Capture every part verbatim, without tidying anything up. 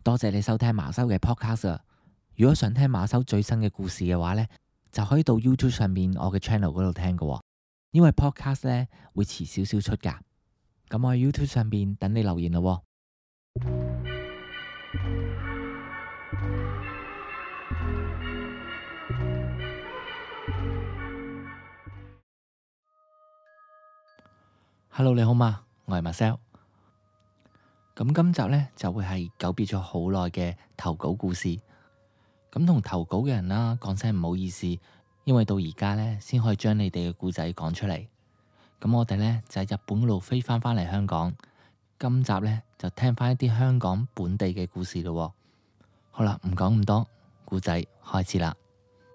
多謝你收聽馬修嘅 podcast。如果想聽馬修最新嘅故事嘅話呢，就可以到 YouTube 上面我嘅 channel 嗰度聽㗎。因為 podcast 呢會遲少少出噶。咁我喺 YouTube 上面等你留言咯。Hello， 你好嗎？我係 Marcel。咁今集呢，就會係久別咗好耐嘅投稿故事。咁同投稿嘅人啦，講聲唔好意思，因為到而家呢，先可以將你哋嘅故仔講出嚟。咁我哋呢，就喺日本嗰度飛翻返嚟香港。今集呢，就聽翻一啲香港本地嘅故事咯。好啦，唔講咁多，故仔開始啦。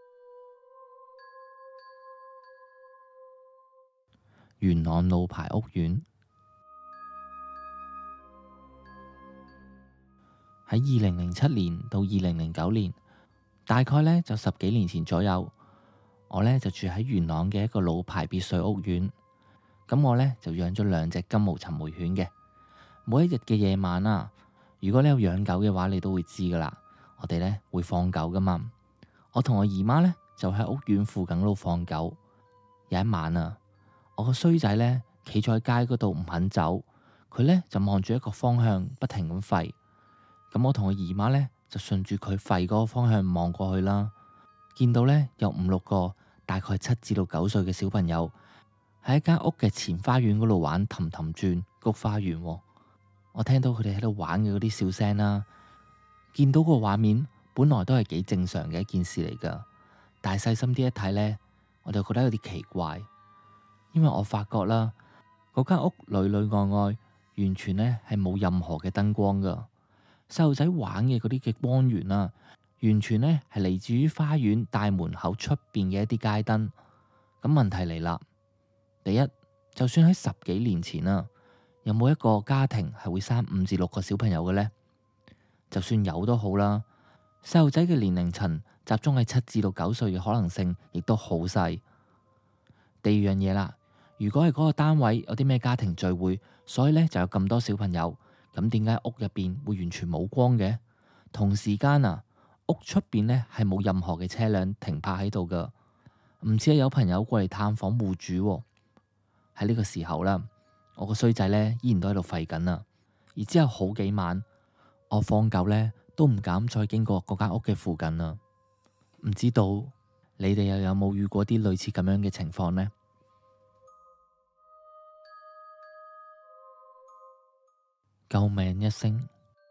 元朗路牌屋苑。喺二零零七年到二零零九年，大概呢就十幾年前左右，我呢就住喺元朗嘅一個老牌別墅屋苑。咁我呢就養咗兩隻金毛尋回犬嘅。每一日嘅夜晚啊，如果你有養狗嘅話，你都會知噶啦。我哋呢會放狗噶嘛。我同我姨媽呢就喺屋苑附近嗰度放狗。有一晚啊，我個衰仔呢企咗喺街嗰度唔肯走，佢呢就望住一個方向不停咁吠。咁我同我姨媽呢，就順住佢吠嗰個方向望過去啦，見到呢，有五六個大概七至到九歲嘅小朋友喺一間屋嘅前花園嗰度玩氹氹轉菊花園。我聽到佢哋喺度玩嘅嗰啲笑聲啦，見到個畫面本來都係幾正常嘅一件事嚟噶，但係細心啲一睇呢，我就覺得有啲奇怪，因為我發覺啦，嗰間屋裏裏外外完全呢係冇任何嘅燈光噶。細路仔玩嘅嗰啲嘅光源啊，完全呢係嚟自於花園大門口出邊嘅一啲街燈。咁問題嚟啦，第一，就算喺十幾年前啊，有冇一個家庭係會生五至六個小朋友嘅呢？就算有都好啦，細路仔嘅年齡層集中喺七至到九歲嘅可能性亦都好細。第二樣嘢啦，如果係嗰個單位有啲咩家庭聚會，所以呢就有咁多小朋友。咁點解屋入邊會完全冇光嘅？同時間啊，屋出邊呢係冇任何嘅車輛停泊喺度噶，唔似係有朋友過嚟探訪戶主。喺呢個時候啦，我個衰仔呢依然都喺度吠緊啊。而之後好幾晚，我放狗呢都唔敢再經過嗰間屋嘅附近啦。唔知道你哋又有冇遇過啲類似咁樣嘅情況呢？救命一聲，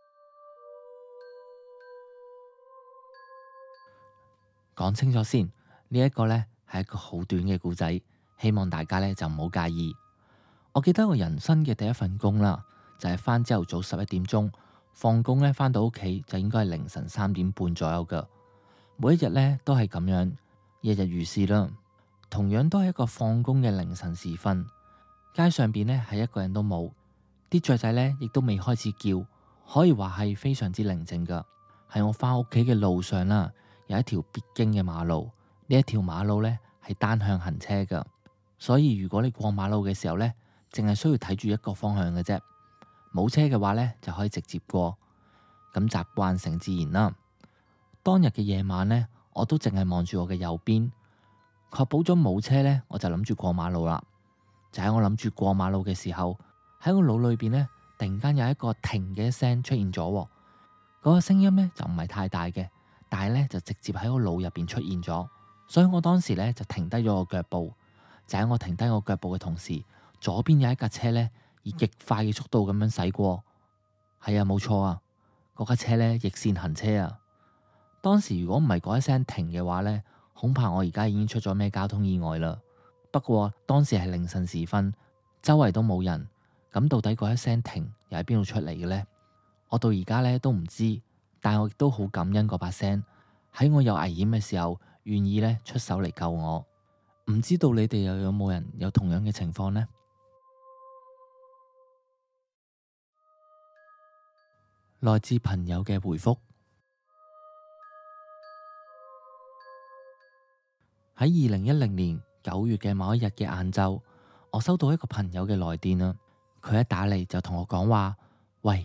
講清楚先。呢一個呢係一個好短嘅故仔，希望大家呢就唔好介意。我記得我人生嘅第一份工啦，就係返朝頭早十一點鐘，放工呢返到屋企就應該係凌晨三點半左右噶。每一日呢都係咁樣，日日如是啦。同樣都係一個放工嘅凌晨時分，街上邊呢係一個人都冇。啲雀仔呢亦都未開始叫，可以話係非常之寧靜噶。喺我返屋企嘅路上啦，有一條必經嘅馬路。呢一條馬路呢係單向行車噶，所以如果你過馬路嘅時候呢，淨係需要睇住一個方向嘅啫。冇車嘅話呢，就可以直接過。咁習慣成自然啦。當日嘅夜晚呢，我都淨係望住我嘅右邊，確保咗冇車呢，我就諗住過馬路啦。就喺我諗住過馬路嘅時候，喺我腦裏邊呢，突然間有一個停嘅聲出現咗。嗰個聲音呢，就唔係太大嘅，但係呢，就直接喺我腦入邊出現咗。所以我當時呢，就停低咗個腳步。就喺我停低我腳步嘅同時，左邊有一架車呢，以極快嘅速度咁樣駛過。係啊，冇錯啊，嗰架車呢，逆線行車啊。當時如果唔係嗰一聲停嘅話呢，恐怕我而家已經出咗咩交通意外啦。不過當時係凌晨時分，周圍都冇人。咁到底嗰一聲停又喺邊度出嚟嘅呢？我到而家呢都唔知，但我亦都好感恩嗰把聲喺我有危險嘅時候願意呢出手嚟救我。唔知道你哋又有冇人有同樣嘅情況呢？來自朋友嘅回覆。喺二零一零年九月嘅某一日嘅晏晝，我收到一個朋友嘅來電啊。佢一打嚟就同我講話，喂，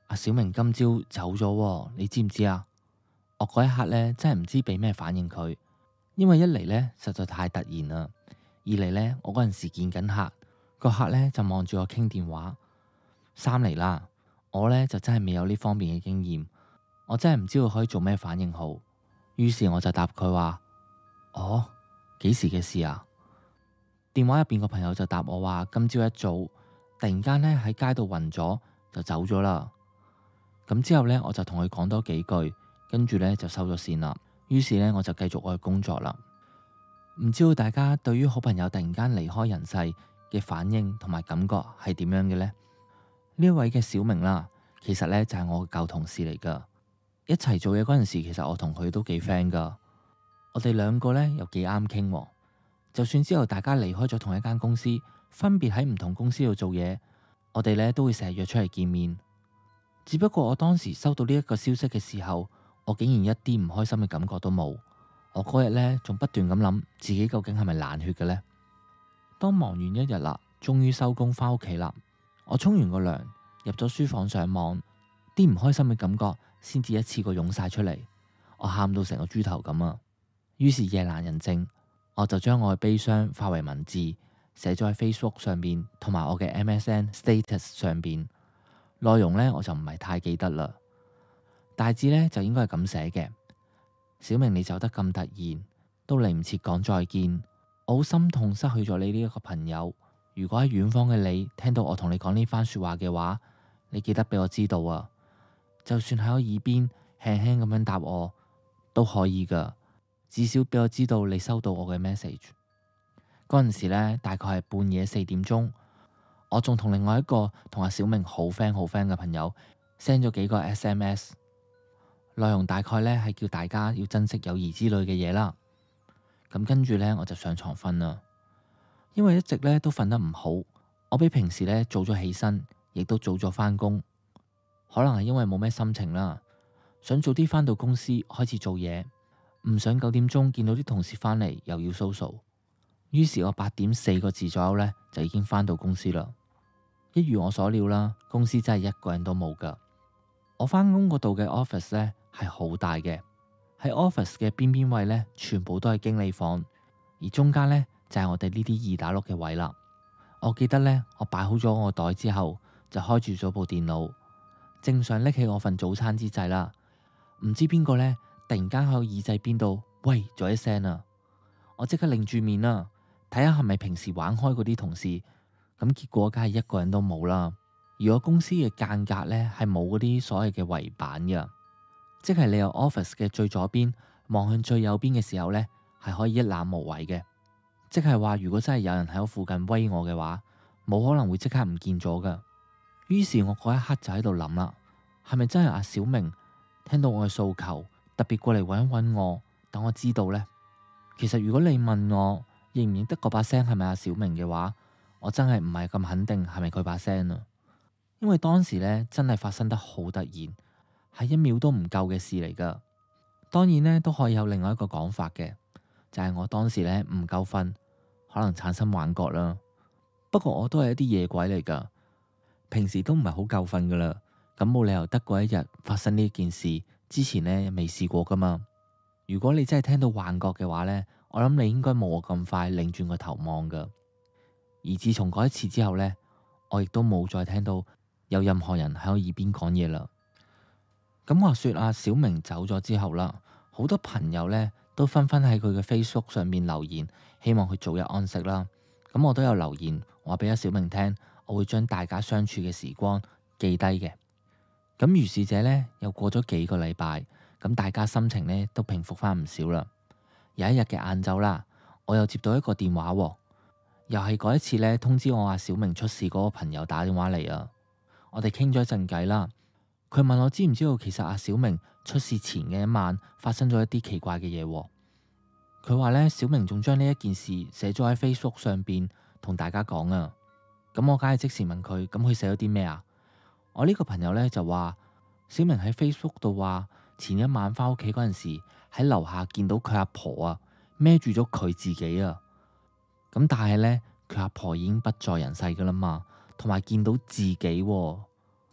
阿小明今朝走咗喎，你知唔知啊？我嗰一刻呢，真係唔知俾咩反應佢，因為一嚟呢，實在太突然啦，二嚟呢，我嗰陣時見緊客，個客呢就望住我傾電話，三嚟啦，我呢就真係未有呢方面嘅經驗，我真係唔知道可以做咩反應好。於是我就答佢話：哦，幾時嘅事啊？電話入邊個朋友就答我話：今朝一早突然間呢喺街度暈咗就走咗啦。咁之後呢，我就同佢講多幾句，跟住呢就收咗線啦。於是呢，我就繼續我嘅工作啦。唔知道大家對於好朋友突然間離開人世嘅反應同埋感覺係點樣嘅呢？呢一位嘅小明啦，其實呢就係我嘅舊同事嚟噶。一齊做嘢嗰陣時，其實我同佢都幾 friend 噶。我哋兩個呢又幾啱傾，就算之後大家離開咗同一間公司，分別喺唔同公司度做嘢，我哋呢都會成日約出嚟見面。只不過我當時收到呢一個消息嘅時候，我竟然一啲唔開心嘅感覺都冇。我嗰日呢仲不斷咁諗自己究竟係咪冷血嘅呢？當忙完一日啦，終於收工返屋企啦，我沖完個涼，入咗書房上網，啲唔開心嘅感覺先至一次過湧晒出嚟，我喊到成個豬頭咁啊！於是夜闌人靜，我就將我嘅悲傷化為文字，寫咗喺 Facebook 上邊同埋我嘅 M S N status 上邊。內容呢，我就唔係太記得啦，大致呢，就應該係咁寫嘅：小明，你走得咁突然，都嚟唔切講再見，我好心痛失去咗你呢一個朋友。如果喺遠方嘅你聽到我同你講呢番說話嘅話，你記得俾我知道啊！就算喺我耳邊輕輕咁樣答我都可以噶，至少俾我知道你收到我嘅 message。嗰陣時呢，大概係半夜四點鐘。我仲同另外一個同阿小明好 friend 好 friend 嘅朋友 send 咗幾個 S M S， 內容大概呢係叫大家要珍惜友誼之類嘅嘢啦。咁跟住呢，我就上床瞓啦，因為一直呢都瞓得唔好，我比平時呢早咗起身，亦都早咗返工。可能係因為冇咩心情啦，想早啲返到公司開始做嘢，唔想九點鐘見到啲同事返嚟又要 social。於是我八點四個字左右呢，就已經返到公司啦。一如我所料啦，公司真係一個人都冇噶。我返工嗰度嘅 office 呢係好大嘅，喺 office 嘅邊邊位呢，全部都係經理房，而中間呢，就係我哋呢啲二打六嘅位啦。我記得呢，我擺好咗我袋之後，就開住咗部電腦，正想拎起我份早餐之際啦，唔知邊個呢，突然間喺我耳仔邊度喂咗一聲啊！我即刻擰住面啦，睇下係咪平時玩開嗰啲同事。咁結果梗係一個人都冇啦。而我公司嘅間隔呢，係冇嗰啲所謂嘅圍板嘅，即係你由 office 嘅最左邊望向最右邊嘅時候呢，係可以一覽無遺嘅。即係話如果真係有人喺我附近威我嘅話，冇可能會即刻唔見咗噶。於是我嗰一刻就喺度諗啦，係咪真係阿小明聽到我嘅訴求，特別過嚟揾一揾我，等我知道呢？其實如果你問我認唔認得嗰把聲係咪阿小明嘅話，我真係唔係咁肯定係咪佢把聲啊，因為當時呢真係發生得好突然，係一秒都唔夠嘅事嚟噶。當然呢都可以有另外一個講法嘅，就係我當時呢唔夠瞓，可能產生幻覺啦。不過我都係一啲夜鬼嚟噶，平時都唔係好夠瞓噶啦，咁冇理由得嗰一日發生呢件事之前呢未試過噶嘛。如果你真係聽到幻覺嘅話呢，我諗你應該冇我咁快擰轉個頭望噶。而自從嗰一次之後呢，我亦都冇再聽到有任何人喺我耳邊講嘢啦。咁話說阿小明走咗之後啦，好多朋友呢都紛紛喺佢嘅 Facebook 上面留言，希望佢早日安息啦。咁我都有留言話俾阿小明聽，我會將大家相處嘅時光記低嘅。咁如是者呢，又過咗幾個禮拜，咁大家心情呢都平復翻唔少啦。有一日嘅晏晝啦，我又接到一個電話喎。又係嗰一次呢，通知我阿小明出事嗰個朋友打電話嚟啊！我哋傾咗一陣偈啦，佢問我知唔知道其實阿小明出事前嘅一晚發生咗一啲奇怪嘅嘢。佢話呢，小明仲將呢一件事寫咗喺 Facebook 上邊同大家講啊。咁我梗係即時問佢，咁佢寫咗啲咩啊？我呢個朋友呢，就話，小明喺 Facebook 度話前一晚返屋企嗰陣時喺樓下見到佢阿婆啊孭住咗佢自己啊。咁但係呢，佢阿婆已經不在人世噶啦嘛，同埋見到自己喎。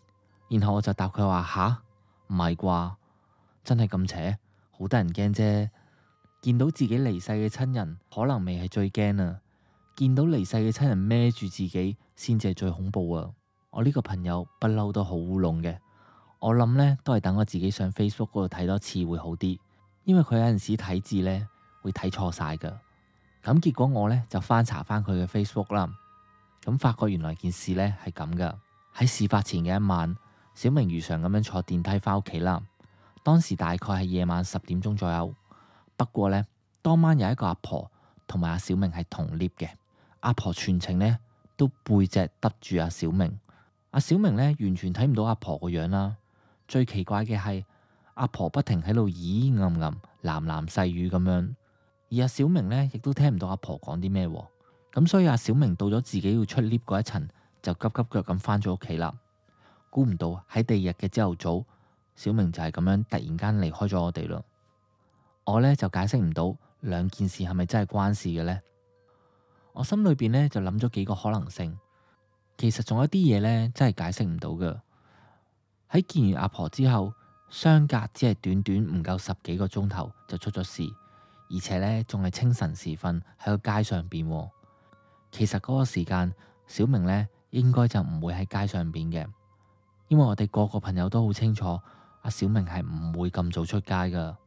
然後我就答佢話：吓，唔係啩？真係咁邪？好得人驚啫！見到自己離世嘅親人，可能未係最驚啊！見到離世嘅親人孭住自己，先至係最恐怖啊！我呢個朋友不嬲都好烏龍嘅，我諗呢都係等我自己上 Facebook 嗰度睇多次會好啲，因為佢有陣時睇字呢會睇錯晒噶。咁結果我呢就翻查翻佢嘅 Facebook 啦，咁發覺原來件事呢係咁噶。喺事發前嘅一晚，小明如常咁樣坐電梯翻屋企啦。當時大概係夜晚十點鐘左右。不過呢，當晚有一個阿婆同埋阿小明係同 lift 嘅。阿婆全程呢都背脊耷住阿小明，阿小明呢完全睇唔到阿婆個樣啦。最奇怪嘅係阿婆不停喺度咦吟吟、喃喃細語咁樣，而阿小明呢亦都聽唔到阿婆講啲咩。咁所以阿小明到咗自己要出 lift 嗰一層，就急急腳咁翻咗屋企啦。估唔到喺第二日嘅朝頭早，小明就係咁樣突然間離開咗我哋啦。我呢就解釋唔到兩件事係咪真係關事嘅呢？我心裏邊呢就諗咗幾個可能性。其實仲有啲嘢呢真係解釋唔到㗎。喺見完阿婆之後，相隔只係短短唔夠十幾個鐘頭就出咗事，而且呢仲係清晨時分喺個街上邊。其實嗰個時間，小明呢應該就唔會喺街上邊嘅，因為我哋個個朋友都好清楚，阿小明係唔會咁早出街㗎。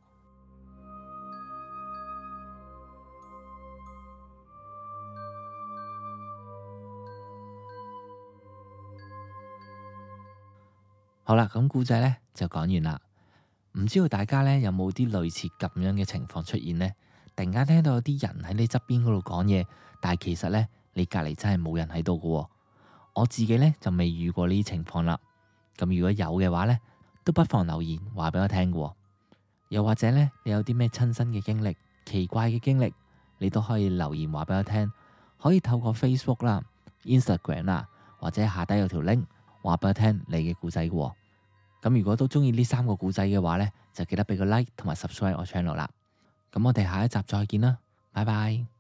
好啦，咁故仔呢就講完啦。唔知道大家呢有冇啲類似咁樣嘅情況出現呢？突然間聽到有啲人喺你側邊嗰度講嘢，但係其實呢，你隔籬真係冇人喺度㗎。我自己呢就未遇過呢啲情況啦。咁如果有嘅話呢，都不妨留言話俾我聽㗎。又或者呢，你有啲咩親身嘅經歷、奇怪嘅經歷，你都可以留言話俾我聽。可以透過 Facebook 啦、Instagram 啦，或者下低有條 link。話俾我聽你嘅故仔嘅。咁如果都中意呢三個故仔嘅話呢，就記得俾個 like 同埋 subscribe 我 channel 啦。咁我哋下一集再見啦，拜拜。